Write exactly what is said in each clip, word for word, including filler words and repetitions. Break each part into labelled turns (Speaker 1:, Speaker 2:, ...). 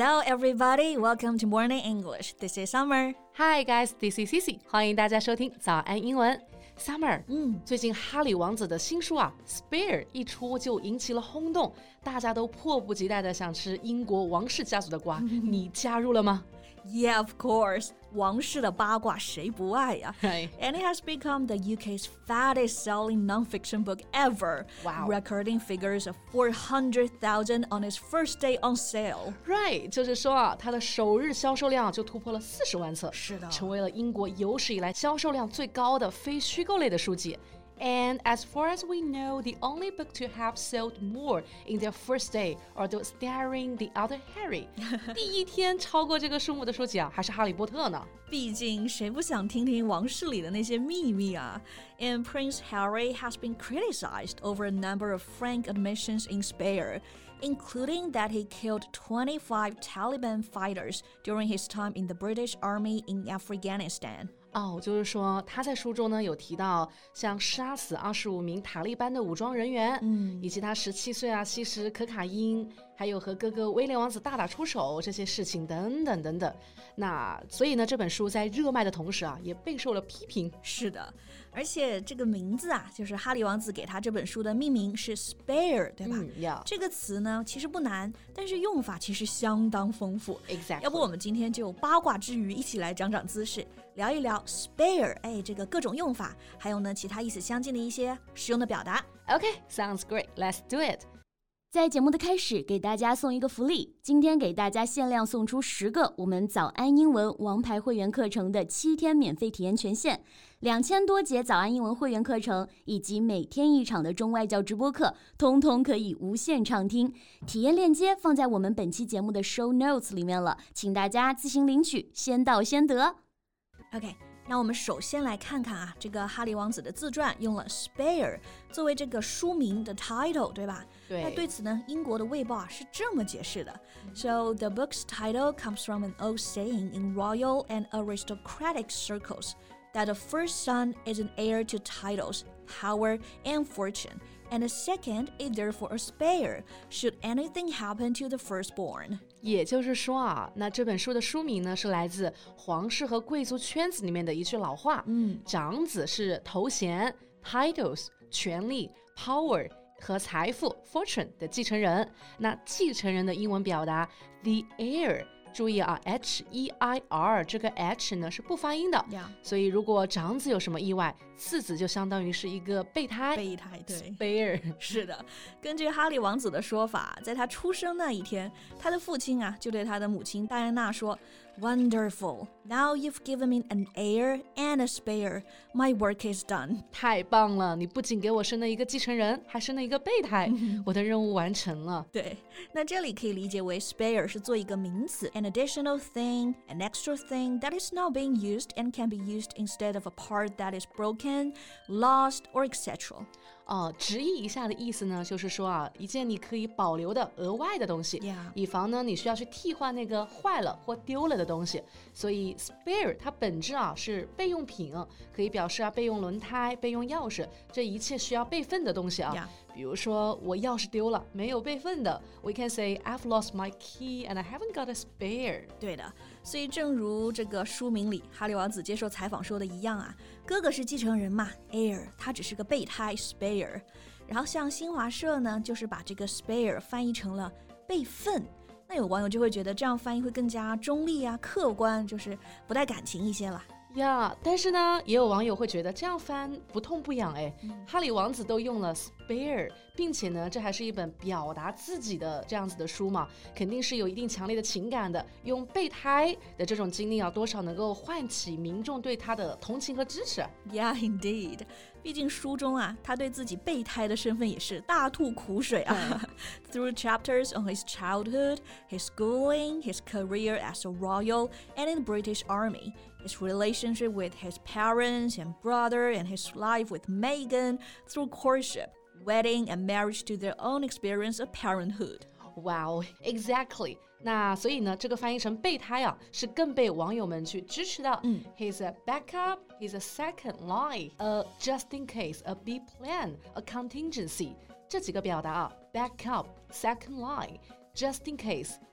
Speaker 1: Hello, everybody. Welcome to Morning English. This is Summer.
Speaker 2: Hi, guys. This is Cici. 欢迎大家收听早安英文。Summer，
Speaker 1: 嗯，
Speaker 2: 最近哈里王子的新书啊 ，Spare 一出就引起了轰动，大家都迫不及待的想吃英国王室家族的瓜。你加入了吗？
Speaker 1: Yeah, of course. 王室的八卦谁不爱呀？
Speaker 2: Right.
Speaker 1: And it has become the U K's fattest selling non-fiction book ever.
Speaker 2: Wow.
Speaker 1: Recording figures of four hundred thousand on its first day on sale.
Speaker 2: Right， 就是说啊，它的首日销售量就突破了四十万册，
Speaker 1: 是的，
Speaker 2: 成为了英国有史以来销售量最高的非虚构类的书籍。And as far as we know, the only book to have sold more in their first day are those starring the other Harry. 第一天超過這個數目的書籍啊，還是哈利波特呢。
Speaker 1: 畢竟誰不想聽聽王室裡的那些秘密啊？ And Prince Harry has been criticized over a number of frank admissions in Spare, including that he killed twenty-five Taliban fighters during his time in the British Army in Afghanistan.
Speaker 2: 哦，就是说他在书中呢有提到，像杀死二十五名塔利班的武装人员，嗯，以及他十七岁啊吸食可卡因，还有和哥哥威廉王子大打出手这些事情等等等等。那所以呢，这本书在热卖的同时啊，也备受了批评。
Speaker 1: 是的，而且这个名字啊，就是哈利王子给他这本书的命名是 Spare， 对吧？
Speaker 2: 嗯 yeah.
Speaker 1: 这个词呢其实不难，但是用法其实相当丰富。
Speaker 2: Exactly.
Speaker 1: 要不我们今天就八卦之余一起来长长姿势，聊一聊 Spare， 哎，这个各种用法，还有呢其他意思相近的一些实用的表达。
Speaker 2: Okay, sounds great. Let's do it.
Speaker 3: 在节目的开始，给大家送一个福利，今天给大家限量送出十个我们早安英文王牌会员课程的七天免费体验权限，两千多节早安英文会员课程以及每天一场的中外教直播课，通通可以无限畅听。体验链接放在我们本期节目的 show notes 里面了，请大家自行领取，先到先得。
Speaker 1: OK， 那我们首先来看看啊，这个哈利王子的自传用了 Spare 作为这个书名的 title， 对吧？
Speaker 2: 对。
Speaker 1: 那对此呢，英国的卫报啊是这么解释的。So the book's title comes from an old saying in royal and aristocratic circles that the first son is an heir to titles, power, and fortune, and the second is therefore a spare, should anything happen to the firstborn.
Speaker 2: 也就是说啊，那这本书的书名呢是来自皇室和贵族圈子里面的一句老话，嗯，长子是头衔 titles 权力 power 和财富 fortune 的继承人，那继承人的英文表达 the heir， 注意啊 H E I R 这个 H 呢是不发音的，
Speaker 1: Yeah.
Speaker 2: 所以如果长子有什么意外，次子就相当于是一个备胎，
Speaker 1: 备胎，对
Speaker 2: spare。
Speaker 1: 是的，根据哈利王子的说法，在他出生那一天，他的父亲啊就对他的母亲戴安娜说 Wonderful, now you've given me an heir and a spare, my work is done.
Speaker 2: 太棒了，你不仅给我生了一个继承人，还生了一个备胎，我的任务完成了。
Speaker 1: 对，那这里可以理解为 spare 是做一个名词 an additional thing, an extra thing that is now being used and can be used instead of a part that is broken, lost, or et cetera.
Speaker 2: 哦，直译一下的意思呢，就是说啊，一件你可以保留的额外的东西，
Speaker 1: Yeah.
Speaker 2: 以防呢你需要去替换那个坏了或丢了的东西。所以 spare 它本质啊是备用品，可以表示啊备用轮胎、备用钥匙，这一切需要备份的东西啊。
Speaker 1: Yeah.
Speaker 2: 比如说我钥匙丢了，没有备份的 ，we can say I've lost my key and I haven't got a spare。
Speaker 1: 对的，所以正如这个书名里哈利王子接受采访说的一样啊，哥哥是继承人嘛 ，heir， 他只是个备胎 spare。然后像新华社呢，就是把这个 spare 翻译成了备份。那有网友就会觉得这样翻译会更加中立啊、客观，就是不带感情一些了。
Speaker 2: 呀、yeah, 但是呢，也有网友会觉得这样翻不痛不痒哎、嗯。哈里王子都用了 spare， 并且呢，这还是一本表达自己的这样子的书嘛，肯定是有一定强烈的情感的。用备胎的这种经历啊，多少能够唤起民众对他的同情和支持。
Speaker 1: Yeah, indeed. 毕竟书中啊，他对自己备胎的身份也是大吐苦水啊。Through chapters on his childhood, his schooling, his career as a royal, and in the British Army, his relationship with his parents and brother, and his life with Meghan through courtship, wedding, and marriage to their own experience of parenthood.
Speaker 2: Wow, exactly. 那所以呢，这个翻译成备胎啊，是更被网友们去支持的。嗯 He's a backup, he's a second line, a just in case, a B plan, a contingency. 这几个表达啊 ，backup, second line, just in case,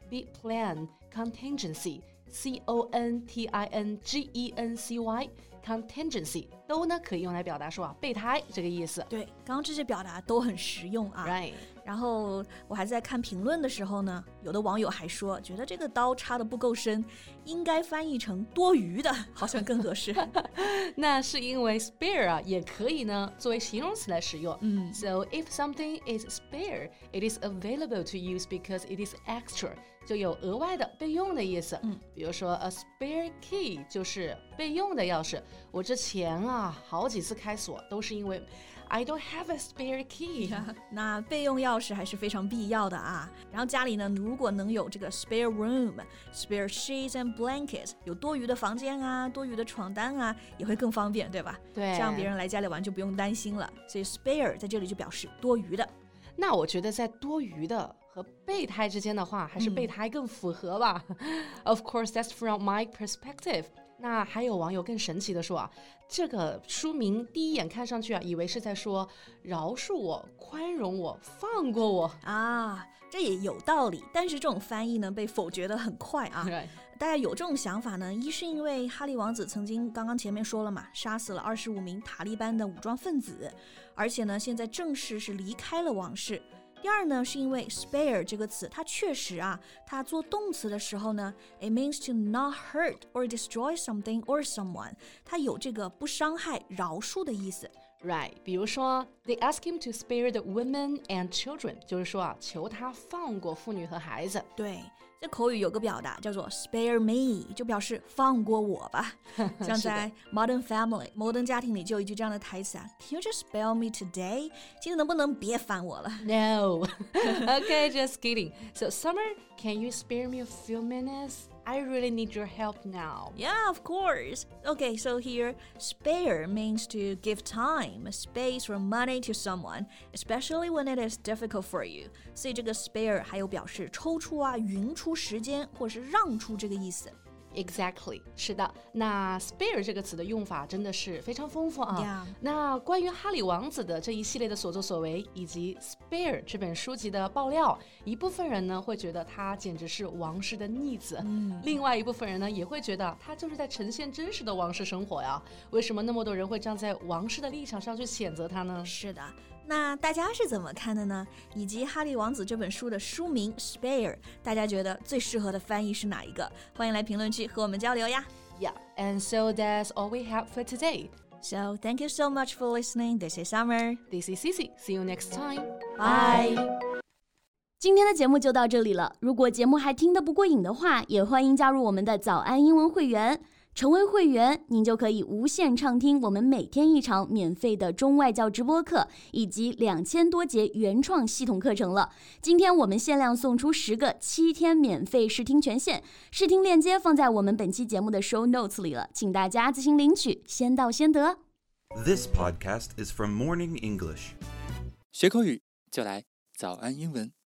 Speaker 2: be plan contingency C O N T I N G E N C Y contingency 都呢可以用来表达说啊备胎这个意思。
Speaker 1: 对，刚刚这些表达都很实用啊。
Speaker 2: Right。
Speaker 1: 然后我还在看评论的时候呢，有的网友还说，觉得这个刀插得不够深，应该翻译成多余的，好像更合适。
Speaker 2: 那是因为 spare 啊，也可以呢作为形容词来使用。
Speaker 1: 嗯
Speaker 2: So if something is spare, it is available to use because it is extra， 就有额外的备用的意思。
Speaker 1: 嗯，
Speaker 2: 比如说 a spare key 就是备用的钥匙。我之前啊好几次开锁都是因为I don't have a spare key
Speaker 1: 那备用钥匙还是非常必要的啊。然后家里呢，如果能有这个 spare room, spare sheets and blankets， 有多余的房间啊，多余的床单啊，也会更方便，对吧？
Speaker 2: 对，
Speaker 1: 这样别人来家里玩就不用担心了。所以 spare 在这里就表示多余的。
Speaker 2: 那我觉得在多余的和备胎之间的话，还是备胎更符合吧。嗯、Of course, that's from my perspective。那还有网友更神奇的说啊，这个书名第一眼看上去啊，以为是在说饶恕我、宽容我、放过我
Speaker 1: 啊，这也有道理。但是这种翻译呢，被否决得很快啊。
Speaker 2: Right.
Speaker 1: 大家有这种想法呢，一是因为哈利王子曾经刚刚前面说了嘛，杀死了二十五名塔利班的武装分子，而且呢，现在正式是离开了王室。第二呢，是因为 spare 这个词，它确实啊，它做动词的时候呢 ，it means to not hurt or destroy something or someone， 它有这个不伤害、饶恕的意思。
Speaker 2: Right， 比如说 they ask him to spare the women and children， 就是说啊，求他放过妇女和孩子。
Speaker 1: 对，这口语有个表达叫做 spare me， 就表示放过我吧。像在 Modern Family 摩登家庭里就有一句这样的台词啊 ，Can you just spare me today？ 今天能不能别烦我了
Speaker 2: ？No， okay, just kidding. So Summer, can you spare me a few minutes?I really need your help now.
Speaker 1: Yeah, of course. Okay, so here, spare means to give time, space or money to someone, especially when it is difficult for you. 所以这个 spare 还有表示抽出啊、匀出时间或是让出这个意思。
Speaker 2: Exactly， 是的。那 spare 这个词的用法真的是非常丰富啊。
Speaker 1: Yeah.
Speaker 2: 那关于哈利王子的这一系列的所作所为，以及 spare 这本书籍的爆料，一部分人呢会觉得他简直是王室的逆子，嗯、另外一部分人呢也会觉得他就是在呈现真实的王室生活呀。为什么那么多人会站在王室的立场上去谴责他呢？
Speaker 1: 是的。那大家是怎么看的呢？以及《哈利王子》这本书的书名 Spare， 大家觉得最适合的翻译是哪一个？欢迎来评论区和我们交流呀。
Speaker 2: Yeah, and so that's all we have for today.
Speaker 1: So thank you so much for listening. This is Summer.
Speaker 2: This is Cici. See you next time.
Speaker 1: Bye.
Speaker 3: 今天的节目就到这里了。如果节目还听得不过瘾的话，也欢迎加入我们的早安英文会员。成为会员，您就可以无限畅听我们每天一场免费的中外教直播课，以及两千多节原创系统课程了。今天我们限量送出十个七天免费试听权限，试听链接放在我们本期节目的 show notes 里了，请大家自行领取，先到先得。
Speaker 4: This podcast is from Morning English.
Speaker 5: 学口语就来早安英文。